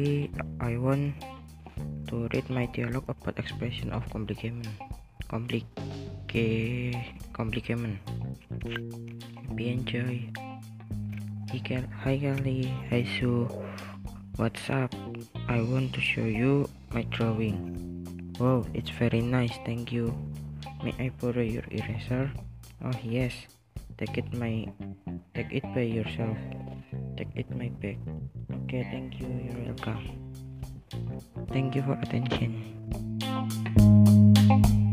Today I want to read my dialogue about expression of complication. Complication. Be enjoy. Hi Kelly, hi Sue. What's up? I want to show you my drawing. Wow, it's very nice, thank you. May I borrow your eraser? Oh yes. Take it by yourself. Take it my bag. Okay, thank you. You're welcome. Thank you for attention.